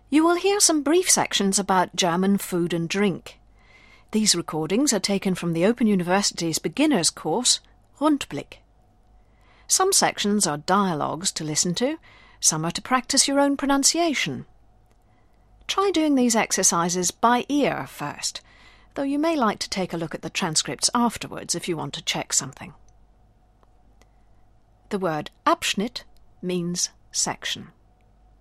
You will hear some brief sections about German food and drink. These recordings are taken from the Open University's beginner's course, Rundblick. Some sections are dialogues to listen to, some are to practice your own pronunciation. Try doing these exercises by ear first, though you may like to take a look at the transcripts afterwards if you want to check something. The word Abschnitt means section.